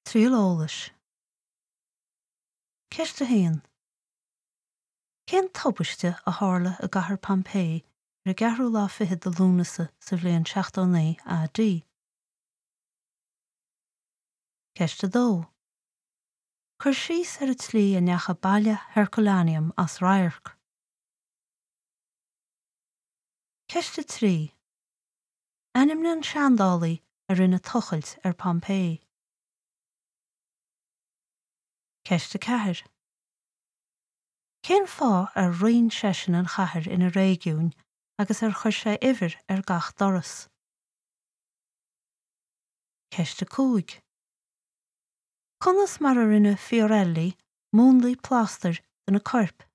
Tríolólais. Ceiste haon. Cén tobaiste a tharla a gcathair Pompéi ar gearrú lá fiche do lúnasa sa bhliain 16 AD. Ceiste dó. Chur síos ar a tlí a neacha baile Herculaneum as Rairc. Ceiste trí. Ainm na an seandálaí a rinne tochailt ar Pompéi. Ceiste ceathair. Cén fá ar roinn seisean an chathair ina réigiún agus ar chuir sé uimhir ar gach doras. Ceiste cúig. Conas mar a rinne Fiorelli, múnlaí pláster den na corp